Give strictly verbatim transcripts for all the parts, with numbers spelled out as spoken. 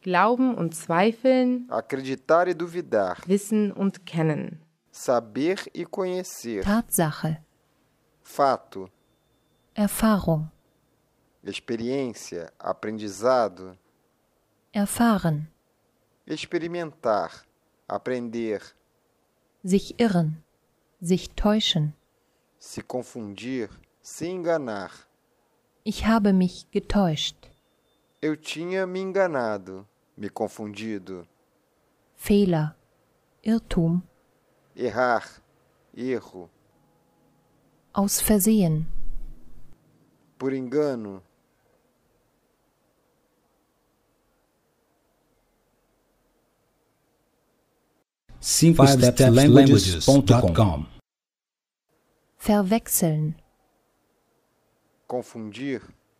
Glauben und Zweifeln, acreditar e duvidar, Wissen und Kennen, saber e conhecer, Tatsache, fato, Erfahrung, experiência, aprendizado, erfahren, experimentar, aprender, sich irren, sich täuschen. se confundir, se enganar. Ich habe mich getäuscht. Eu tinha me enganado, me confundido. Fehler, Irrtum, Errar, erro, aus Versehen, por engano. cinco steps languages ponto com. verwechseln, Confundir,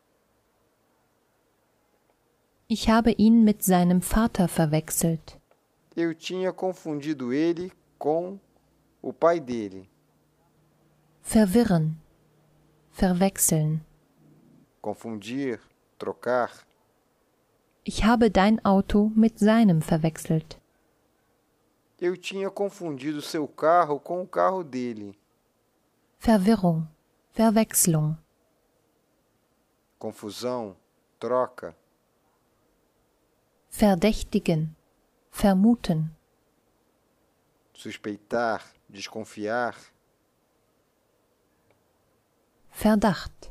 ich habe ihn mit seinem Vater verwechselt. eu tinha confundido ele com o pai dele. Verwirren, verwechseln, Confundir, trocar. ich habe dein Auto mit seinem verwechselt. Eu tinha confundido seu carro com o carro dele. Verwirrung, Verwechslung, Confusão, troca. verdächtigen, vermuten, Suspeitar, desconfiar. Verdacht,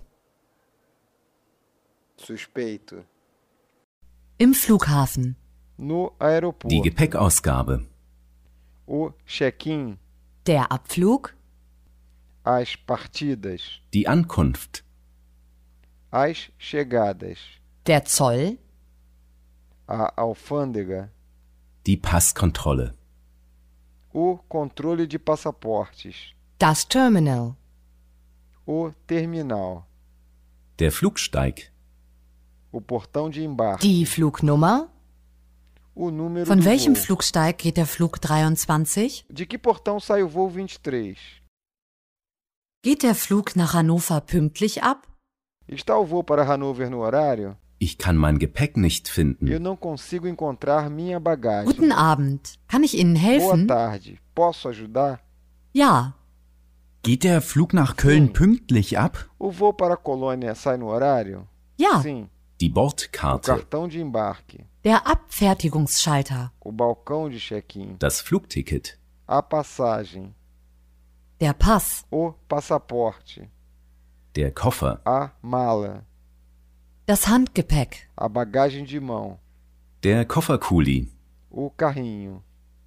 Suspeito. Im Flughafen. No aeroporto. Die Gepäckausgabe. O check-in. Der Abflug. As partidas. Die Ankunft. As chegadas. Der Zoll. A alfândega. Die Passkontrolle. O controle de passaportes. Das Terminal. O terminal. Der Flugsteig. O portão de embarque. Die Flugnummer. O número Von do welchem voo. Flugsteig geht der Flug dreiundzwanzig? De que portão sai o voo vinte e três? Geht der Flug nach Hannover pünktlich ab? Está o voo para Hannover no horário? Ich kann mein Gepäck nicht Eu finden. não consigo encontrar minha bagagem. Guten Abend. Kann ich Ihnen Boa helfen? tarde. Posso ajudar? Ja. Geht der Flug nach Köln pünktlich ab? O voo para a Colônia sai no horário? Ja. Sim. Die O Bordkarte. cartão de embarque. Der Abfertigungsschalter. O balcão de check-in. Das Flugticket. A passagem. Der Pass. O passaporte. Der Koffer. A mala. Das Handgepäck. A bagagem de mão. Der Kofferkuli. O carrinho.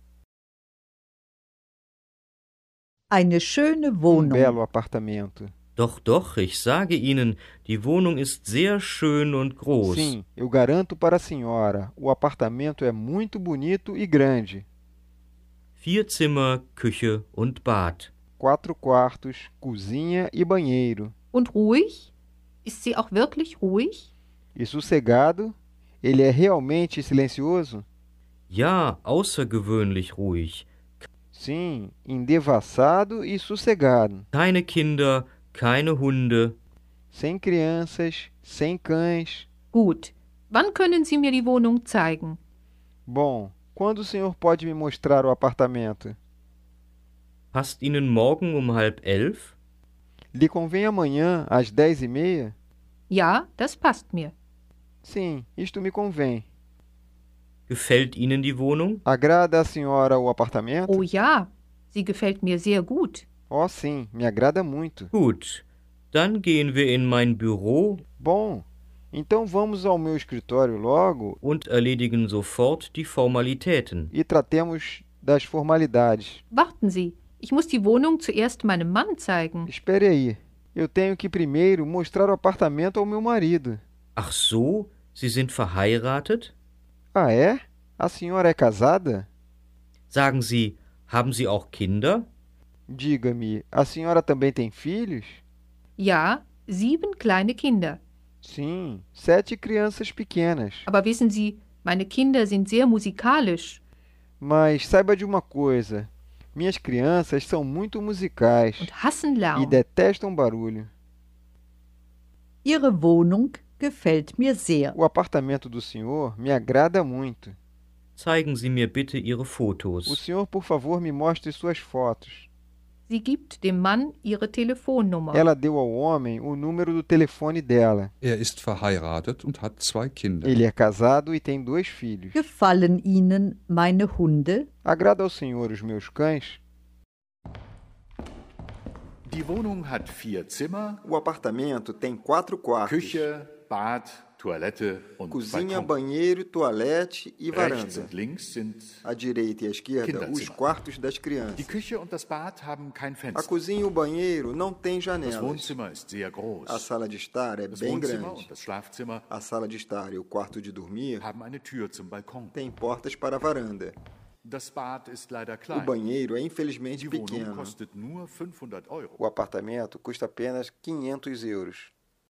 Eine schöne Um Wohnung. belo apartamento. Doch, doch, ich sage Ihnen, die Wohnung ist sehr schön und groß. Sim, eu garanto para a senhora. O apartamento é muito bonito e grande. Vier Zimmer, Küche und Bad. Quatro quartos, cozinha e banheiro. Und ruhig? Ist sie auch wirklich ruhig? E sossegado? Ele é realmente silencioso? Ja, außergewöhnlich ruhig. Sim, endevassado e sossegado. Keine Kinder, keine Hunde. Sem crianças, sem cães. Gut. Wann können Sie mir die Wohnung zeigen? Bom, quando o senhor pode me mostrar o apartamento? Passt Ihnen morgen um halb elf? Lhe convém amanhã, às dez e meia? Ja, das passt mir. Sim, isto me convém. Gefällt Ihnen die Wohnung? Agrada a senhora o apartamento? Oh ja, sie gefällt mir sehr gut. Oh, sim, me agrada muito. Gut, dann gehen wir in mein Büro Bom, então vamos ao meu escritório logo und erledigen sofort die Formalitäten. e tratemos das formalidades. Warten Sie, ich muss die Wohnung zuerst meinem Mann zeigen. Espere aí. Eu tenho que primeiro mostrar o apartamento ao meu marido. Ach so, Sie sind verheiratet? Ah, é? A senhora é casada? Sagen Sie, haben Sie auch Kinder? Diga-me, a senhora também tem filhos? Ja, sieben kleine Kinder. Sim, sete crianças pequenas. Aber wissen Sie, meine Kinder sind sehr musikalisch Mas saiba de uma coisa: minhas crianças são muito musicais und hassen e Lärm. detestam barulho. Ihre Wohnung gefällt mir sehr. O apartamento do senhor me agrada muito. Zeigen Sie mir bitte Ihre O Fotos. senhor, por favor, me mostre suas fotos. Sie gibt dem Mann ihre Telefonnummer. Ela deu ao homem o número do telefone dela. Er ist verheiratet und hat zwei Kinder. Ele é casado e tem dois filhos. Gefallen Ihnen meine Hunde? Agrada ao senhor os meus cães? Die Wohnung hat vier Zimmer, O apartamento tem quatro quartos. Küche, Bad, Toilette und Cozinha, Balkon. banheiro, toalete e Rechts varanda. und links sind À direita e à esquerda, Kinderzimmer. os quartos das die crianças. Küche und das Bad haben kein A Fenster. cozinha e o banheiro não têm Das janelas. Wohnzimmer ist sehr groß. A sala de estar é Das bem Wohnzimmer grande. und das Schlafzimmer A sala de estar e o quarto de dormir haben eine Tür zum Balkon. têm portas para a varanda. Das Bad ist leider O klein. banheiro é infelizmente Die Wohnung pequeno. kostet nur fünfhundert Euro. O apartamento custa apenas quinhentos euros.